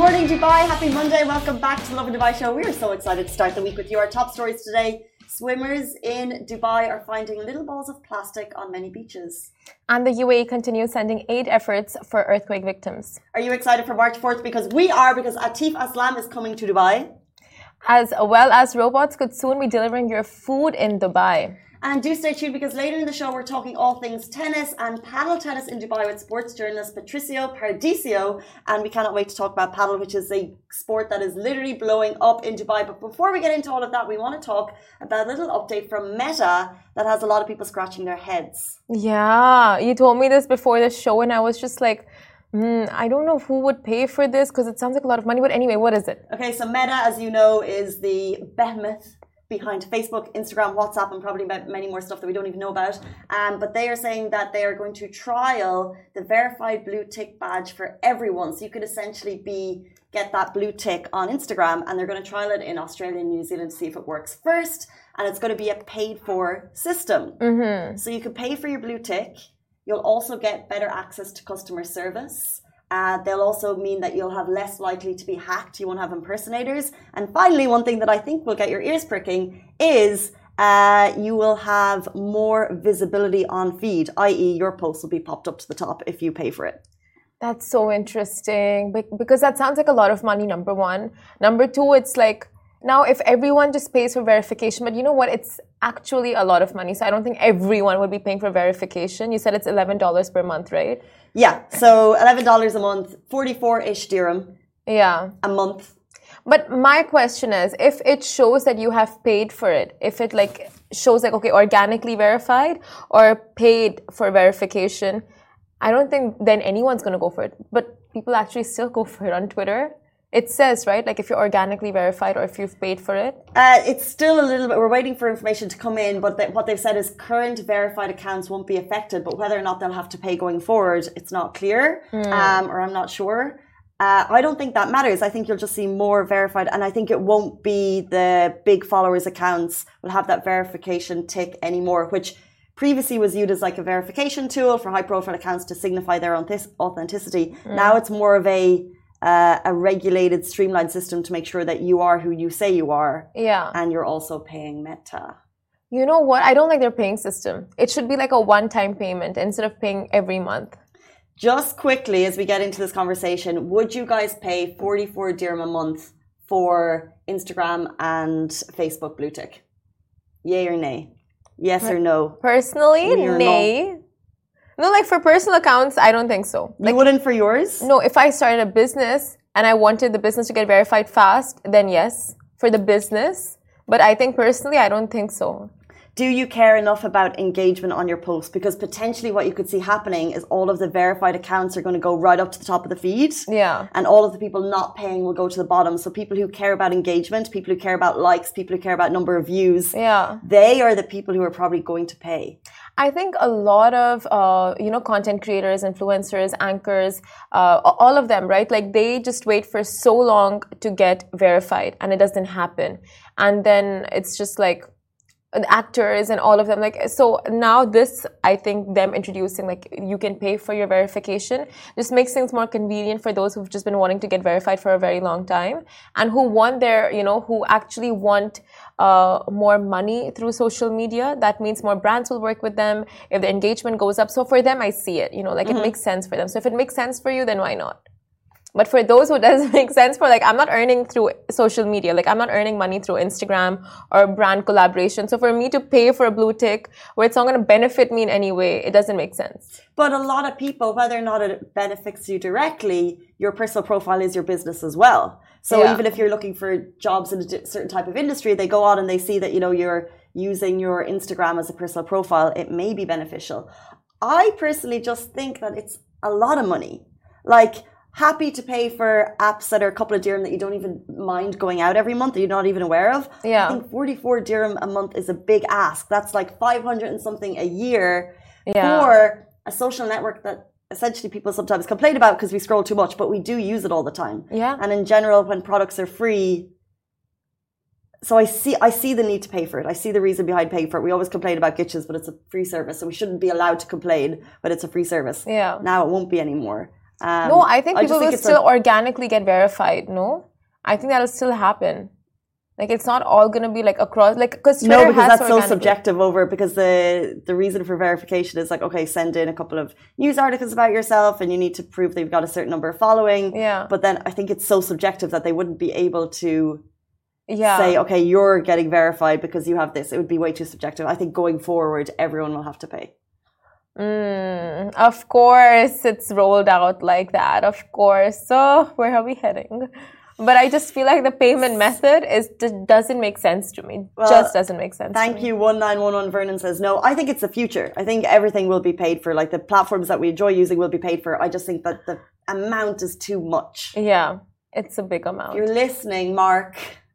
morning, Dubai. Happy Monday. Welcome back to the Lovin Dubai show. We are so excited to start the week with you. Our top stories today. Swimmers in Dubai are finding little balls of plastic on many beaches. And the UAE continues sending aid efforts for earthquake victims. Are you excited for March 4th? Because we are, because Atif Aslam is coming to Dubai. As well as robots could soon be delivering your food in Dubai. And do stay tuned because later in the show we're talking all things tennis and paddle tennis in Dubai with sports journalist Patricio Paradiso. And we cannot wait to talk about paddle, which is a sport that is literally blowing up in Dubai. But before we get into all of that, we want to talk about a little update from Meta that has a lot of people scratching their heads. Yeah, you told me this before the show and I was just like, I don't know who would pay for this because it sounds like a lot of money. But anyway, what is it? Okay, so Meta, as you know, is the behemoth behind Facebook, Instagram, WhatsApp, and probably many more stuff that we don't even know about. But they are saying that they are going to trial the verified blue tick badge for everyone. So you could essentially get that blue tick on Instagram, and they're going to trial it in Australia and New Zealand to see if it works first. And it's going to be a paid-for system. Mm-hmm. So you could pay for your blue tick. You'll also get better access to customer service. They'll also mean that you'll have less likely to be hacked. You won't have impersonators. And finally, one thing that I think will get your ears pricking is you will have more visibility on feed, i.e. your post will be popped up to the top if you pay for it. That's so interesting because that sounds like a lot of money, number one. Number two, it's like, now if everyone just pays for verification, but you know what? It's actually a lot of money. So I don't think everyone would be paying for verification. You said it's $11 per month, right? Yeah, so $11 a month, 44-ish dirham a month. But my question is, if it shows that you have paid for it, if it like shows like, okay, organically verified or paid for verification, I don't think then anyone's going to go for it. But people actually still go for it on Twitter. It says, right, like if you're organically verified or if you've paid for it? It's still a little bit, we're waiting for information to come in, but what they've said is current verified accounts won't be affected, but whether or not they'll have to pay going forward, it's not clear, or I'm not sure. I don't think that matters. I think you'll just see more verified, and I think it won't be the big followers accounts will have that verification tick anymore, which previously was viewed as like a verification tool for high profile accounts to signify their authenticity. Now it's more of a regulated, streamlined system to make sure that you are who you say you are. Yeah. And you're also paying Meta. You know what? I don't like their paying system. It should be like a one-time payment instead of paying every month. Just quickly, as we get into this conversation, would you guys pay 44 dirham a month for Instagram and Facebook blue tick? Yay or nay? Yes or no? Personally, nay. No, like for personal accounts, I don't think so. You wouldn't for yours? No, if I started a business and I wanted the business to get verified fast, then yes, for the business. But I think personally, I don't think so. Do you care enough about engagement on your post? Because potentially what you could see happening is all of the verified accounts are going to go right up to the top of the feed. Yeah. And all of the people not paying will go to the bottom. So people who care about engagement, people who care about likes, people who care about number of views, they are the people who are probably going to pay. I think a lot of, content creators, influencers, anchors, all of them, right? Like they just wait for so long to get verified and it doesn't happen. And then it's just like, actors and all of them, like, so now this, I think them introducing like you can pay for your verification just makes things more convenient for those who've just been wanting to get verified for a very long time and who want their, who actually want more money through social media. That means more brands will work with them if the engagement goes up. So for them, I see it, it makes sense for them. So if it makes sense for you, then why not? But for those who doesn't make sense for, like, I'm not earning through social media. Like, I'm not earning money through Instagram or brand collaboration. So for me to pay for a blue tick where it's not going to benefit me in any way, it doesn't make sense. But a lot of people, whether or not it benefits you directly, your personal profile is your business as well. So even if you're looking for jobs in a certain type of industry, they go out and they see that, you're using your Instagram as a personal profile. It may be beneficial. I personally just think that it's a lot of money. Like, happy to pay for apps that are a couple of dirham that you don't even mind going out every month that you're not even aware of. Yeah. I think 44 dirham a month is a big ask. That's like 500 and something a year for a social network that essentially people sometimes complain about because we scroll too much, but we do use it all the time. Yeah. And in general, when products are free, so I see the need to pay for it. I see the reason behind paying for it. We always complain about glitches, but it's a free service, so we shouldn't be allowed to complain, but it's a free service. Yeah. Now it won't be anymore. No, I think people will still organically get verified. No, I think that'll still happen. Like it's not all going to be like across, like because Twitter because that's so subjective over. Because the reason for verification is like, okay, send in a couple of news articles about yourself, and you need to prove that you've got a certain number of following. Yeah. But then I think it's so subjective that they wouldn't be able to say, okay, you're getting verified because you have this. It would be way too subjective. I think going forward, everyone will have to pay. Of course, it's rolled out like that. Of course. So where are we heading? But I just feel like the payment method doesn't make sense to me. Well, just doesn't make sense. Thank you. 1911 Vernon says no. I think it's the future. I think everything will be paid for. Like the platforms that we enjoy using will be paid for. I just think that the amount is too much. Yeah, it's a big amount. If you're listening, Mark.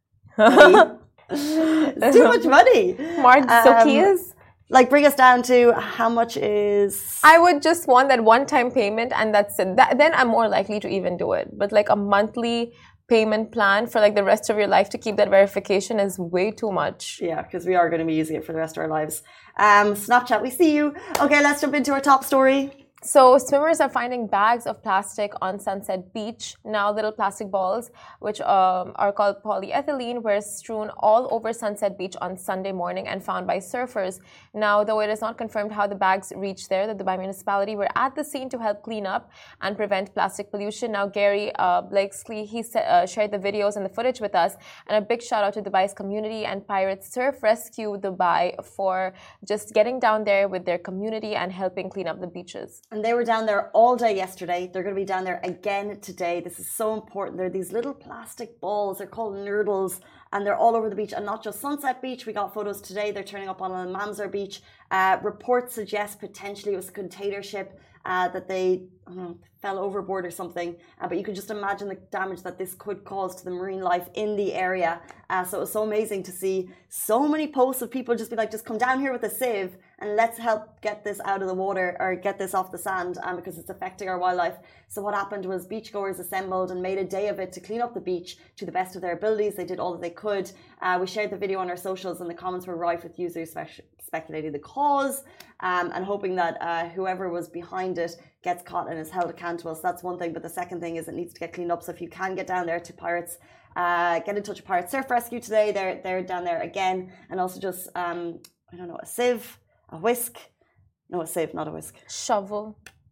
It's too much money. Mark Zuckerberg. Like bring us down to how much is... I would just want that one-time payment and that's it. Then I'm more likely to even do it. But like a monthly payment plan for like the rest of your life to keep that verification is way too much. Yeah, because we are going to be using it for the rest of our lives. Snapchat, we see you. Okay, let's jump into our top story. So swimmers are finding bags of plastic on Sunset Beach. Now little plastic balls, which are called polyethylene, were strewn all over Sunset Beach on Sunday morning and found by surfers. Now, though it is not confirmed how the bags reached there, the Dubai municipality were at the scene to help clean up and prevent plastic pollution. Now, Gary Blakesley, he shared the videos and the footage with us. And a big shout out to Dubai's community and Pirates Surf Rescue Dubai for just getting down there with their community and helping clean up the beaches. And they were down there all day yesterday. They're going to be down there again today. This is so important. They're these little plastic balls. They're called nurdles. And they're all over the beach. And not just Sunset Beach. We got photos today. They're turning up on Al Manzar Beach. Reports suggest potentially it was a container ship that they fell overboard or something. But you can just imagine the damage that this could cause to the marine life in the area. So it was so amazing to see so many posts of people just be like, just come down here with a sieve and let's help get this out of the water or get this off the sand because it's affecting our wildlife. So what happened was beachgoers assembled and made a day of it to clean up the beach to the best of their abilities. They did all that they could. We shared the video on our socials and the comments were rife with users speculating the cause and hoping that whoever was behind it gets caught and is held accountable. So that's one thing. But the second thing is it needs to get cleaned up. So if you can get down there to Pirates, get in touch with Pirates Surf Rescue today. They're down there again. And also just, I don't know, a sieve, a whisk. No, a sieve, not a whisk. Shovel.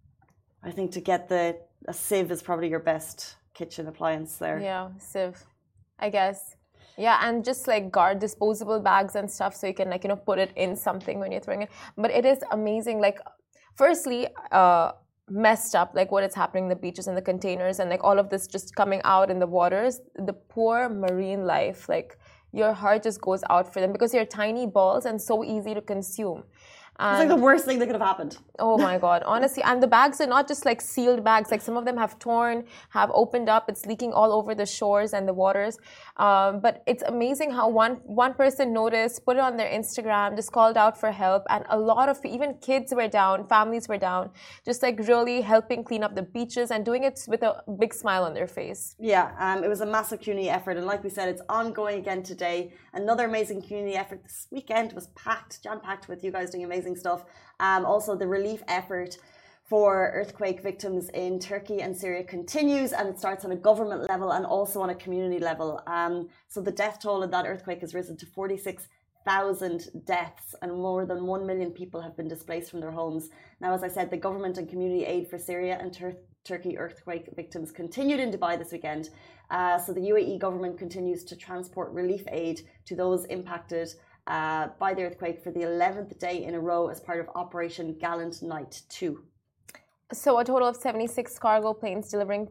I think to get a sieve is probably your best kitchen appliance there. Yeah, sieve, I guess. Yeah, and just like guard disposable bags and stuff so you can like, put it in something when you're throwing it. But it is amazing. Like, firstly, messed up, like what is happening in the beaches and the containers and like all of this just coming out in the waters. The poor marine life, like your heart just goes out for them because they're tiny balls and so easy to consume. It's like the worst thing that could have happened. Oh my God, honestly. And the bags are not just like sealed bags. Like some of them have torn, have opened up. It's leaking all over the shores and the waters. But it's amazing how one person noticed, put it on their Instagram, just called out for help. And a lot of, even kids were down, families were down, just like really helping clean up the beaches and doing it with a big smile on their face. Yeah, it was a massive community effort. And like we said, it's ongoing again today. Another amazing community effort this weekend was jam-packed with you guys doing amazing stuff. Also, the relief effort for earthquake victims in Turkey and Syria continues, and it starts on a government level and also on a community level. So the death toll of that earthquake has risen to 46,000 deaths, and more than 1 million people have been displaced from their homes. Now, as I said, the government and community aid for Syria and Turkey earthquake victims continued in Dubai this weekend. So the UAE government continues to transport relief aid to those impacted by the earthquake for the 11th day in a row as part of Operation Gallant Night 2. So a total of 76 cargo planes delivering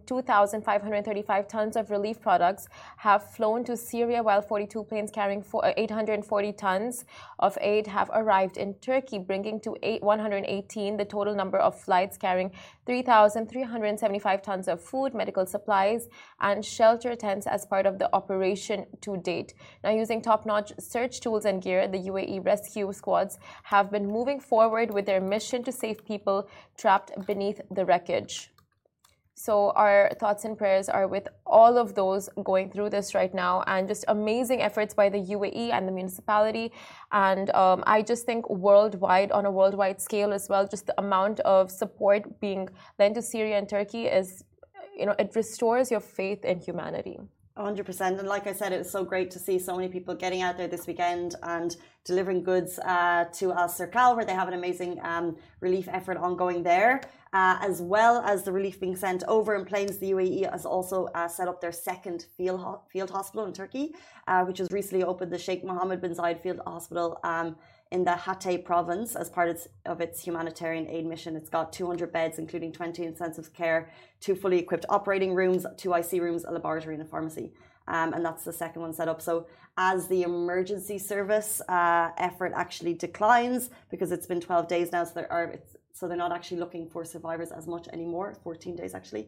2,535 tons of relief products have flown to Syria, while 42 planes carrying 840 tons of aid have arrived in Turkey, bringing to 118 the total number of flights carrying 3,375 tons of food, medical supplies, and shelter tents as part of the operation to date. Now, using top-notch search tools and gear, the UAE rescue squads have been moving forward with their mission to save people trapped beneath the wreckage. So our thoughts and prayers are with all of those going through this right now, and just amazing efforts by the UAE and the municipality. And I just think worldwide, on a worldwide scale as well, just the amount of support being lent to Syria and Turkey is, it restores your faith in humanity. 100%. And like I said, it was so great to see so many people getting out there this weekend and delivering goods to Al Serkal, where they have an amazing relief effort ongoing there, as well as the relief being sent over in planes. The UAE has also set up their second field hospital in Turkey, which was recently opened, the Sheikh Mohammed bin Zayed Field Hospital in the Hatay province as part of its humanitarian aid mission. It's got 200 beds, including 20 intensive care, 2 fully equipped operating rooms, 2 IC rooms, a laboratory and a pharmacy. And that's the second one set up. So as the emergency service effort actually declines, because it's been 12 days now, so they're not actually looking for survivors as much anymore, 14 days actually.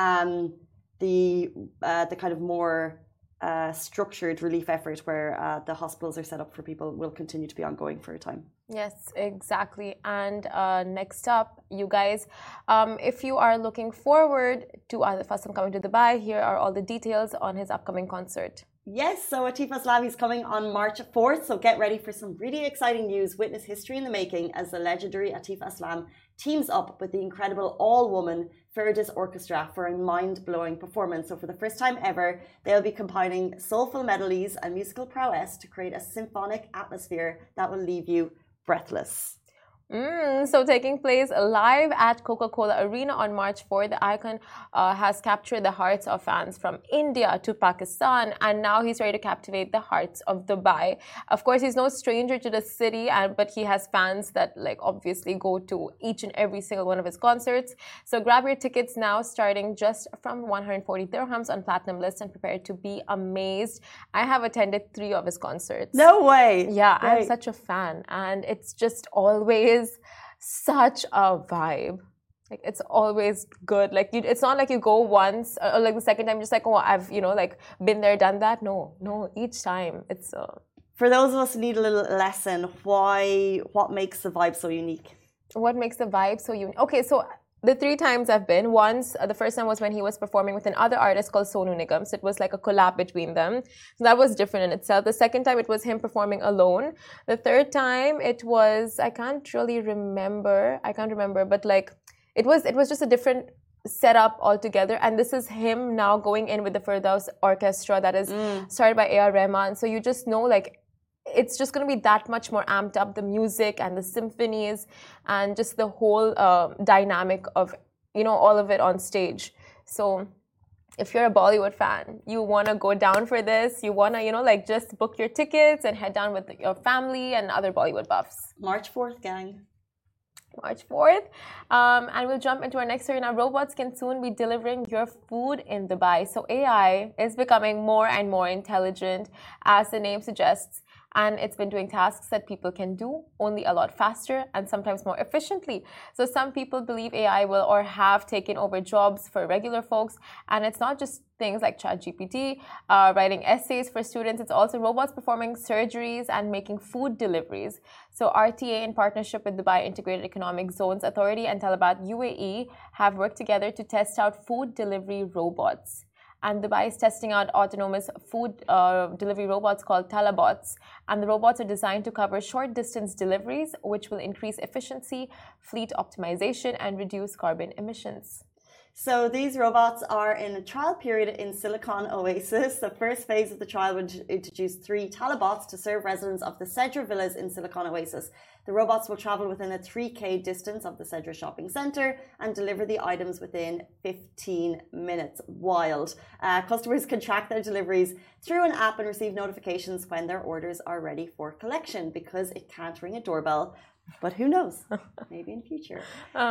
The kind of more structured relief effort where the hospitals are set up for people will continue to be ongoing for a time. Yes, exactly. And next up, you guys, if you are looking forward to Atif Aslam coming to Dubai, here are all the details on his upcoming concert. Yes, so Atif Aslam is coming on March 4th, so get ready for some really exciting news. Witness history in the making as the legendary Atif Aslam teams up with the incredible all-woman Fergus Orchestra for a mind-blowing performance. So for the first time ever, they'll be combining soulful melodies and musical prowess to create a symphonic atmosphere that will leave you breathless. So taking place live at Coca-Cola Arena on March 4th, the icon has captured the hearts of fans from India to Pakistan, and now he's ready to captivate the hearts of Dubai. Of course, he's no stranger to the city, but he has fans that obviously go to each and every single one of his concerts. So grab your tickets now, starting just from 140 dirhams on Platinum List, and prepare to be amazed. I have attended 3 of his concerts. No way! Yeah, right. I'm such a fan, and it's just always such a vibe. It's always good. It's not like you go once or the second time just I've been there, done that. No, each time it's For those of us who need a little lesson, what makes the vibe so unique? What makes the vibe so unique? Okay, so the 3 times I've been, once, the first time was when he was performing with another artist called Sonu Nigam. So it was like a collab between them. So that was different in itself. The second time, it was him performing alone. The third time, it was, I can't remember, but it was just a different setup altogether. And this is him now going in with the Firdaus Orchestra that is started by A.R. Rahman. So you just know, it's just going to be that much more amped up, the music and the symphonies and just the whole dynamic of, all of it on stage. So if you're a Bollywood fan, you want to go down for this, you want to, just book your tickets and head down with your family and other Bollywood buffs. March 4th, gang. March 4th. And we'll jump into our next story. Now, robots can soon be delivering your food in Dubai. So AI is becoming more and more intelligent, as the name suggests. And it's been doing tasks that people can do only a lot faster and sometimes more efficiently. So some people believe AI will or have taken over jobs for regular folks. And it's not just things like ChatGPT, writing essays for students. It's also robots performing surgeries and making food deliveries. So RTA, in partnership with Dubai Integrated Economic Zones Authority and Talabat UAE, have worked together to test out food delivery robots. And Dubai is testing out autonomous food delivery robots called Talabots. And the robots are designed to cover short distance deliveries, which will increase efficiency, fleet optimization, and reduce carbon emissions. So these robots are in a trial period in Silicon Oasis. The first phase of the trial would introduce 3 Talabots to serve residents of the Cedra Villas in Silicon Oasis. The robots will travel within a 3K distance of the Cedra shopping centre and deliver the items within 15 minutes. Wild. Customers can track their deliveries through an app and receive notifications when their orders are ready for collection, because it can't ring a doorbell. But who knows? Maybe in future.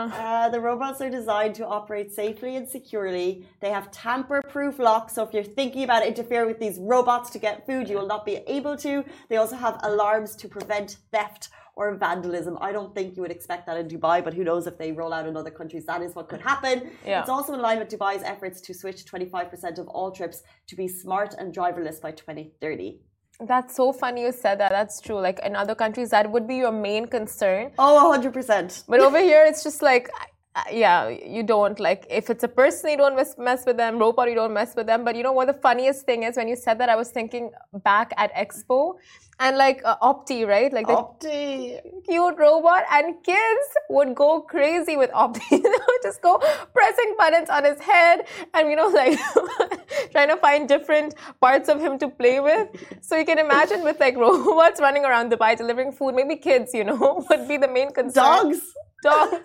The robots are designed to operate safely and securely. They have tamper-proof locks, so if you're thinking about interfering with these robots to get food, you will not be able to. They also have alarms to prevent theft or vandalism. I don't think you would expect that in Dubai, but who knows if they roll out in other countries, that is what could happen. Yeah. It's also in line with Dubai's efforts to switch 25% of all trips to be smart and driverless by 2030. That's so funny you said that. That's true. In other countries, that would be your main concern. Oh, 100%. But over here, it's just yeah, you don't like if it's a person, you don't mess with them. Robot, you don't mess with them. But you know what? The funniest thing is when you said that, I was thinking back at Expo and like Opti, right? Like the Opti. cute robot, and kids would go crazy with Opti. They would just go pressing buttons on his head, and like trying to find different parts of him to play with. So you can imagine with like robots running around Dubai delivering food, maybe kids, would be the main concern. Dogs.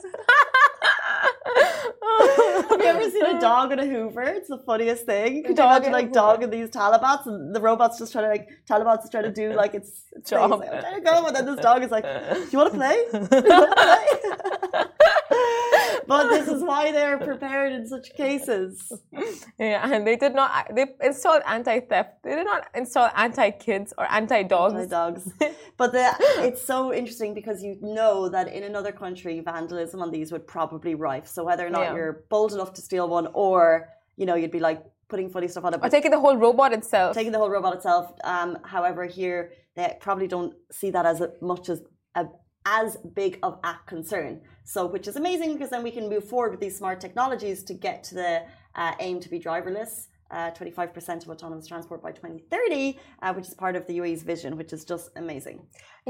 Have you ever seen a dog in a Hoover? It's the funniest thing. Could you imagine like dog in these Talabots and the robot's just trying to Talabots is trying to do like its job. Like, I'm trying to go, and then this dog is like, "Do you want to play? Do you want to play?" But this is why they're prepared in such cases. Yeah, and they installed anti-theft. They did not install anti-kids or anti-dogs. Anti-dogs. But it's so interesting because you know that in another country, vandalism on these would probably rife. So whether or not you're bold enough to steal one, or you'd be like putting funny stuff on it, or taking the whole robot itself. However, here they probably don't see that as much as big of a concern. So, which is amazing because then we can move forward with these smart technologies to get to the aim to be driverless. 25% of autonomous transport by 2030, which is part of the UAE's vision, which is just amazing.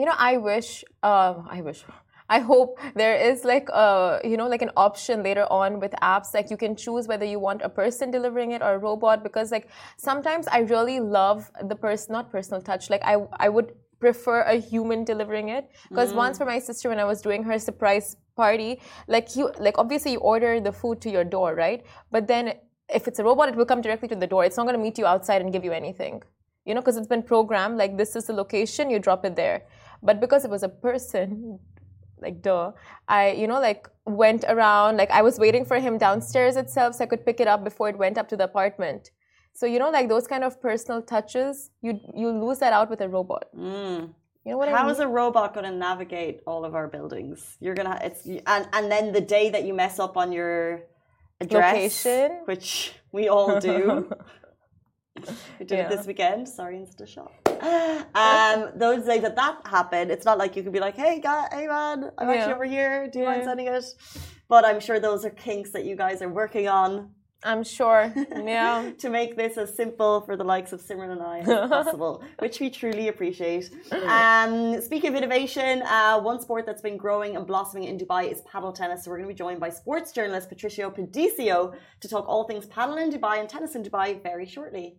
I hope there is like like an option later on with apps, like you can choose whether you want a person delivering it or a robot, because like sometimes I really love the not personal touch. Like I would prefer a human delivering it, because once for my sister, when I was doing her surprise party, like obviously you order the food to your door, right? But then if it's a robot, it will come directly to the door. It's not going to meet you outside and give you anything, because it's been programmed like this is the location, you drop it there. But because it was a person, like duh, I went around, like I was waiting for him downstairs itself so I could pick it up before it went up to the apartment. So like those kind of personal touches, you lose that out with a robot. You know what I mean? How is a robot going to navigate all of our buildings? You're gonna and then the day that you mess up on your address, location, which we all do. We did it this weekend. Sorry, Insta shop. Those days that happened, it's not like you can be like, hey man, I'm actually over here. Do you mind sending it? But I'm sure those are kinks that you guys are working on. I'm sure, yeah. To make this as simple for the likes of Simran and I as possible, which we truly appreciate. Speaking of innovation, one sport that's been growing and blossoming in Dubai is paddle tennis. So we're going to be joined by sports journalist Patricio Pedicio to talk all things paddle in Dubai and tennis in Dubai very shortly.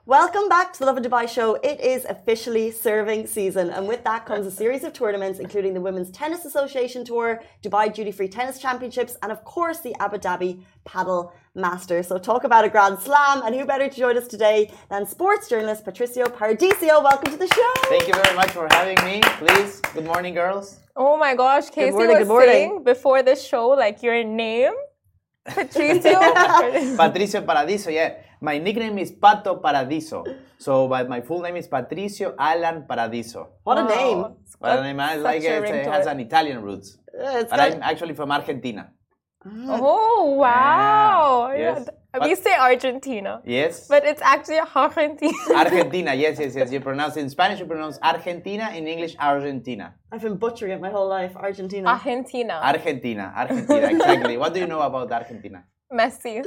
Welcome back to the Love of Dubai show. It is officially serving season, and with that comes a series of tournaments, including the Women's Tennis Association Tour, Dubai Duty Free Tennis Championships, and of course the Abu Dhabi Paddle Masters. So talk about a grand slam, and who better to join us today than sports journalist Patricio Paradiso. Welcome to the show. Thank you very much for having me. Please, good morning, girls. Oh my gosh, Casey good was morning. saying before the show, like your name, Patricio. Patricio Paradiso, yeah. My nickname is Pato Paradiso. So, but my full name is Patricio Alan Paradiso. What a name. But I like it has an Italian roots. But I'm actually from Argentina. Oh, wow. Yes. Yeah. We say Argentina. Yes. But it's actually Argentina. Argentina, yes. You pronounce it in Spanish, you pronounce Argentina, in English, Argentina. I've been butchering it my whole life. Argentina. Argentina. Argentina, exactly. What do you know about Argentina? Messi.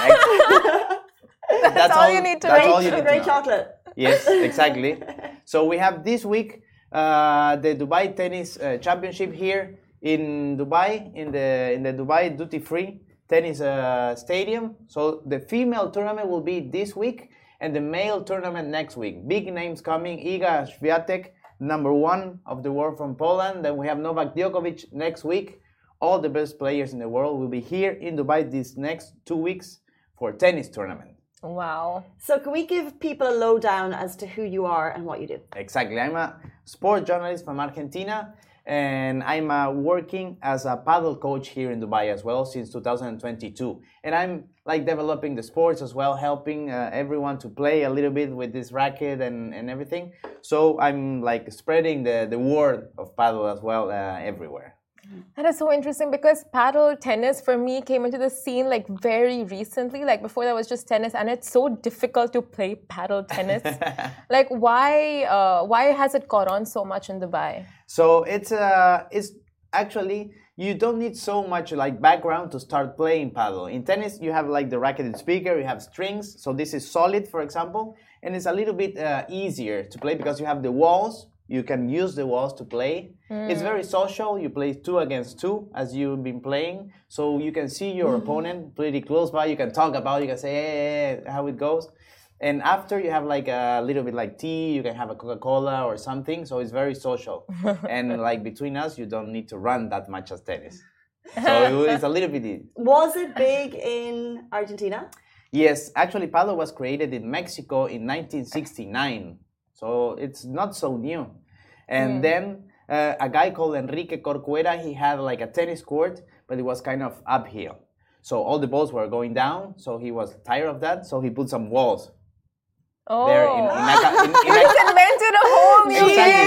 That's all you need to that's know. all you need to Great know. chocolate. Yes, exactly. So we have this week the Dubai Tennis Championship here in Dubai, in the Dubai Duty Free Tennis Stadium. So the female tournament will be this week, and the male tournament next week. Big names coming: Iga Swiatek, #1 of the world from Poland. Then we have Novak Djokovic next week. All the best players in the world will be here in Dubai these next 2 weeks for tennis tournament. Wow. So can we give people a lowdown as to who you are and what you do? Exactly. I'm a sport journalist from Argentina, and I'm working as a paddle coach here in Dubai as well since 2022. And I'm like developing the sports as well, helping everyone to play a little bit with this racket and everything. So I'm like spreading the word of paddle as well everywhere. That is so interesting because paddle tennis for me came into the scene like very recently. Like before that was just tennis, and it's so difficult to play paddle tennis. Like why has it caught on so much in Dubai? So it's actually you don't need so much like background to start playing paddle. In tennis, you have like the racket and speaker, you have strings. So this is solid, for example, and it's a little bit easier to play because you have the walls. You can use the walls to play. It's very social. You play 2 against 2 as you've been playing. So you can see your opponent pretty close by. You can talk about it. You can say, hey, how it goes. And after you have like a little bit like tea, you can have a Coca-Cola or something. So it's very social. And like between us, you don't need to run that much as tennis. So it's a little bit... Was it big in Argentina? Yes, actually paddle was created in Mexico in 1969. So it's not so new. And then a guy called Enrique Corcuera, he had like a tennis court, but it was kind of uphill. So all the balls were going down. So he was tired of that. So he put some walls. Oh, There he's invented a whole new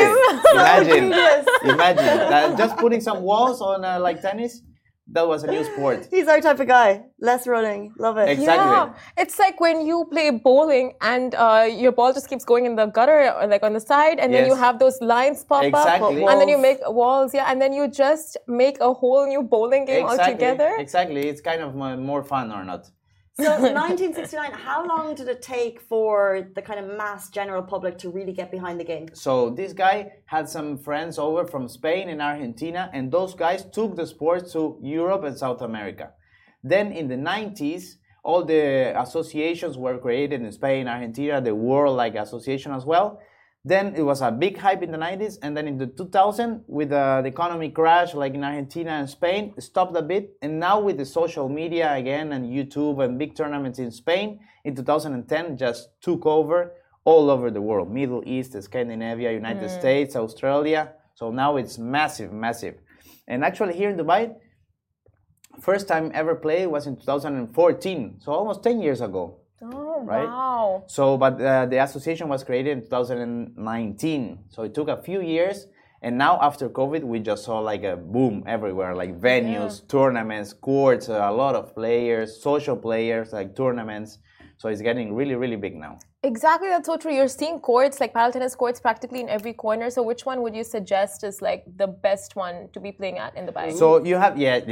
game. Imagine that just putting some walls on like tennis. That was a new sport. He's our type of guy. Less running. Love it. Exactly. Yeah, it's like when you play bowling and your ball just keeps going in the gutter or like on the side, and then you Yes. have those lines pop Exactly. up, and then you make walls, and then you just make a whole new bowling game altogether. Exactly. It's kind of more fun or not. So 1969, how long did it take for the kind of mass general public to really get behind the game? So this guy had some friends over from Spain and Argentina, and those guys took the sport to Europe and South America. Then in the 90s, all the associations were created in Spain, Argentina, the World like Association as well. Then it was a big hype in the 90s, and then in the 2000, with the economy crash, like in Argentina and Spain, it stopped a bit. And now with the social media again and YouTube and big tournaments in Spain, in 2010, just took over all over the world. Middle East, Scandinavia, United States, Australia. So now it's massive, massive. And actually here in Dubai, first time ever played was in 2014, so almost 10 years ago. Oh, Right? wow. So, but the association was created in 2019. So it took a few years. And now after COVID, we just saw like a boom everywhere, like venues, tournaments, courts, a lot of players, social players, like tournaments. So it's getting really, really big now. Exactly, that's so true. You're seeing courts, like paddle tennis courts, practically in every corner. So which one would you suggest is like the best one to be playing at in Dubai? So you have, yeah.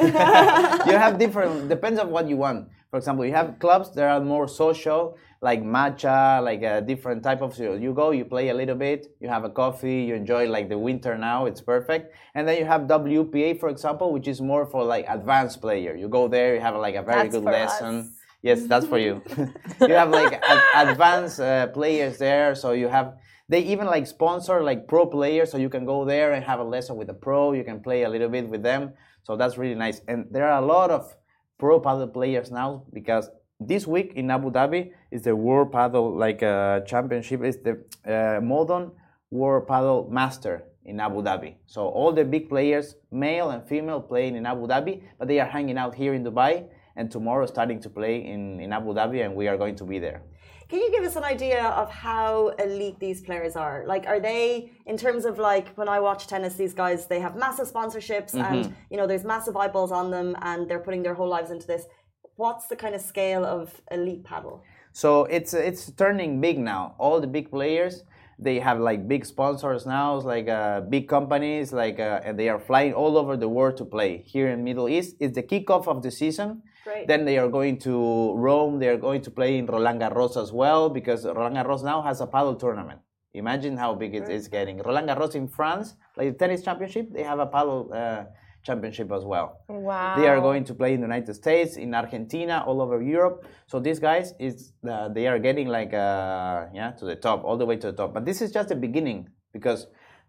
You have different, depends on what you want. For example, you have clubs that are more social, like matcha, like a different type of, so you go, you play a little bit, you have a coffee, you enjoy like the winter now, it's perfect. And then you have WPA, for example, which is more for like advanced player. You go there, you have like a very That's good for lesson. us. Yes, that's for you. You have like advanced players there, so you have. They even like sponsor like pro players, so you can go there and have a lesson with a pro. You can play a little bit with them, so that's really nice. And there are a lot of pro paddle players now because this week in Abu Dhabi is the World Paddle Championship. It's the Modern World Paddle Master in Abu Dhabi. So all the big players, male and female, playing in Abu Dhabi, but they are hanging out here in Dubai. And tomorrow starting to play in Abu Dhabi, and we are going to be there. Can you give us an idea of how elite these players are? Like, are they, in terms of like, when I watch tennis, these guys, they have massive sponsorships and, you know, there's massive eyeballs on them and they're putting their whole lives into this. What's the kind of scale of elite paddle? So it's turning big now. All the big players, they have like big sponsors now, like big companies, and they are flying all over the world to play. Here in Middle East, it's the kickoff of the season. Great. Then they are going to Rome. They are going to play in Roland Garros as well because Roland Garros now has a paddle tournament. Imagine how big it is getting. Roland Garros in France, like the tennis championship, they have a paddle championship as well. Wow. They are going to play in the United States, in Argentina, all over Europe. So these guys, they are getting to the top, all the way to the top. But this is just the beginning because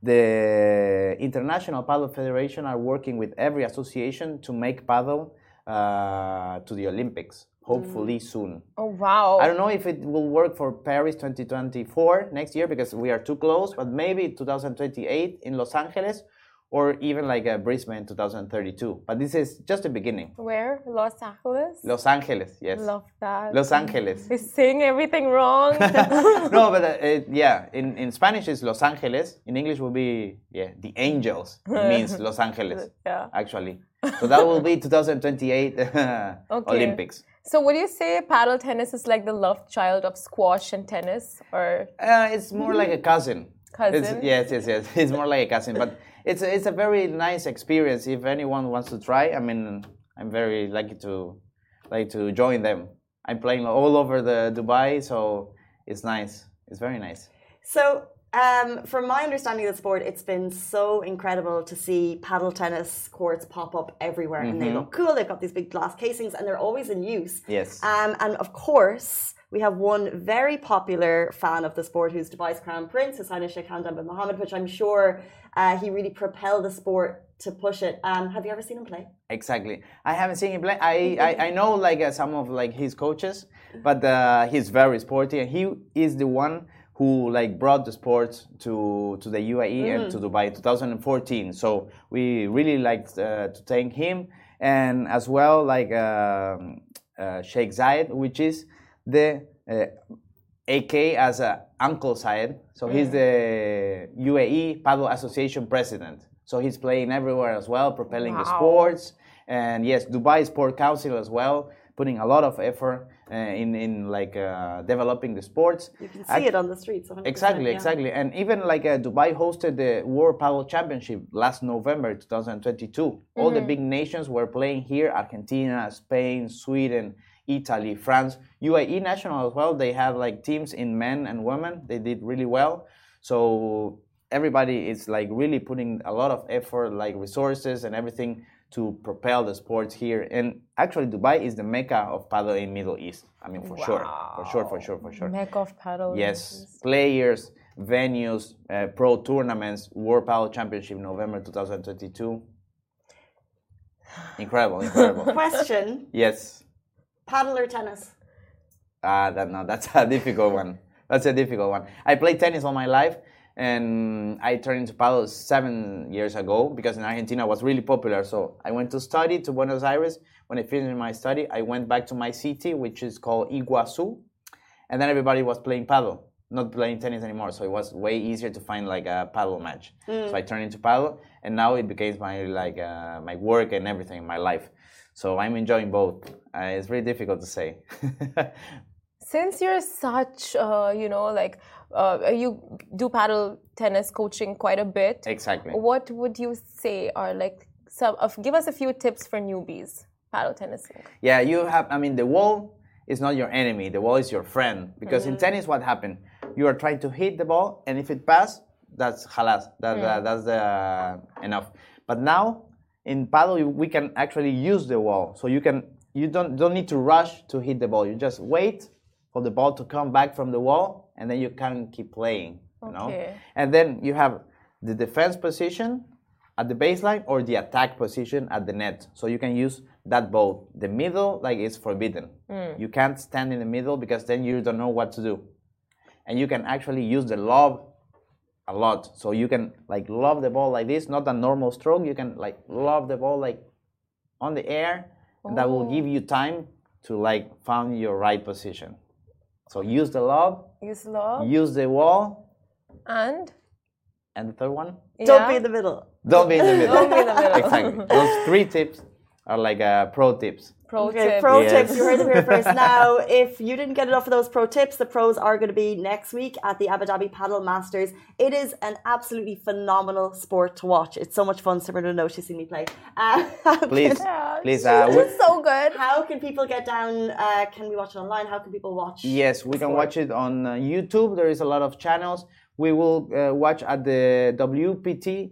the International Paddle Federation are working with every association to make paddle to the Olympics, hopefully soon. Oh, wow. I don't know if it will work for Paris 2024 next year because we are too close, but maybe 2028 in Los Angeles or even Brisbane 2032. But this is just the beginning. Where? Los Angeles? Los Angeles, yes. Love that. Los Angeles. He's saying everything wrong. No, but in Spanish it's Los Angeles. In English will be, the Angels. It means Los Angeles, actually. So that will be 2028 Olympics. So would you say paddle tennis is like the love child of squash and tennis? Or it's more like a cousin. Cousin? Yes. It's more like a cousin. But it's a very nice experience. If anyone wants to try, I mean, I'm very lucky to join them. I'm playing all over the Dubai, so it's nice. It's very nice. So, from my understanding of the sport, it's been so incredible to see paddle tennis courts pop up everywhere, and they look cool. They've got these big glass casings, and they're always in use. Yes. And of course, we have one very popular fan of the sport who's Dubai's Crown Prince, His Highness Sheikh Hamdan bin Mohammed, which I'm sure he really propelled the sport to push it. Have you ever seen him play? Exactly. I haven't seen him play. I know some of his coaches, but he's very sporty, and he is the one who brought the sport to the UAE and to Dubai in 2014. So we really like to thank him, and as well Sheikh Zayed, which is the AK as Uncle Zayed. So he's the UAE Paddle Association president. So he's playing everywhere as well, propelling the sports. And yes, Dubai Sport Council as well, putting a lot of effort in developing the sports. You can see it on the streets. Exactly. And even Dubai hosted the World Paddle Championship last November 2022. All the big nations were playing here: Argentina, Spain, Sweden, Italy, France, UAE national as well. They have teams in men and women. They did really well. So everybody is really putting a lot of effort, resources and everything, to propel the sports here. And actually Dubai is the mecca of paddle in Middle East. I mean, for sure. Mecca of paddle. Yes. Players, venues, pro tournaments, World Paddle Championship November 2022. Incredible. Question. Yes. Paddle or tennis? That's a difficult one. I played tennis all my life, and I turned into paddle 7 years ago because in Argentina it was really popular. So I went to study to Buenos Aires. When I finished my study, I went back to my city, which is called Iguazu, and then everybody was playing paddle, not playing tennis anymore. So it was way easier to find a paddle match. So I turned into paddle, and now it became my my work and everything, my life. So I'm enjoying both. It's really difficult to say. Since you're such, you do paddle tennis coaching quite a bit. Exactly. What would you say are give us a few tips for newbies paddle tennis? Yeah, the wall is not your enemy. The wall is your friend. Because in tennis, what happened? You are trying to hit the ball, and if it passes, that's halas. That's enough. But now, in paddle, we can actually use the wall. So you can you don't need to rush to hit the ball. You just wait for the ball to come back from the wall, and then you can keep playing. You know? And then you have the defense position at the baseline or the attack position at the net. So you can use that both. The middle, like, is forbidden. You can't stand in the middle because then you don't know what to do. And you can actually use the lob a lot. So you can like lob the ball like this, not a normal stroke. You can like lob the ball like on the air, and that will give you time to like find your right position. So use the lob, use the wall, and the third one? Don't be in the middle. Don't be in the middle. Exactly. Those 3 tips are like pro tips. Pro tips. You heard them here first. Now, if you didn't get enough of those pro tips, the pros are going to be next week at the Abu Dhabi Paddle Masters. It is an absolutely phenomenal sport to watch. It's so much fun. Similar to know she's seen me play. Please. It's so good. How can people get down? Can we watch it online? How can people watch? Yes, we can watch it on YouTube. There is a lot of channels. We will watch at the WPT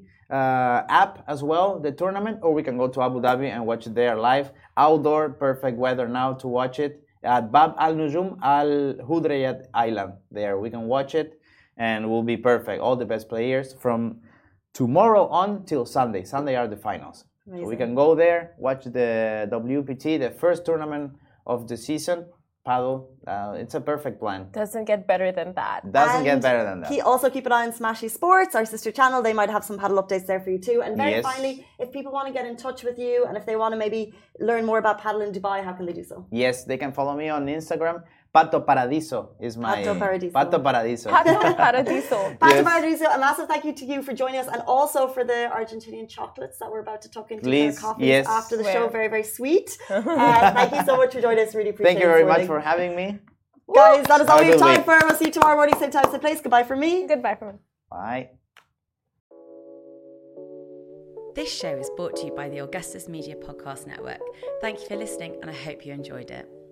app as well, the tournament, or we can go to Abu Dhabi and watch it there live. Outdoor, perfect weather now to watch it at Bab Al Nujum Al Hudriyat Island. There we can watch it and will be perfect. All the best players from tomorrow on till Sunday. Sunday are the finals. Amazing. So we can go there, watch the WPT, the first tournament of the season. Paddle, it's a perfect plan. Doesn't get better than that. Get better than that. Also keep an eye on Smashy Sports, our sister channel. They might have some paddle updates there for you too. And very finally, if people want to get in touch with you and if they want to maybe learn more about paddle in Dubai, how can they do so? Yes, they can follow me on Instagram. Pato Paradiso is my... Pato Paradiso. Pato Paradiso. Pato Paradiso. Pato Paradiso. A massive thank you to you for joining us and also for the Argentinian chocolates that we're about to tuck into our coffees after the show. Very, very sweet. Thank you so much for joining us. Really appreciate it. Thank you very much for having me. Guys, that is all we have time for. We'll see you tomorrow morning, same time, same place. Goodbye from me. Goodbye from me. Bye. This show is brought to you by the Augustus Media Podcast Network. Thank you for listening, and I hope you enjoyed it.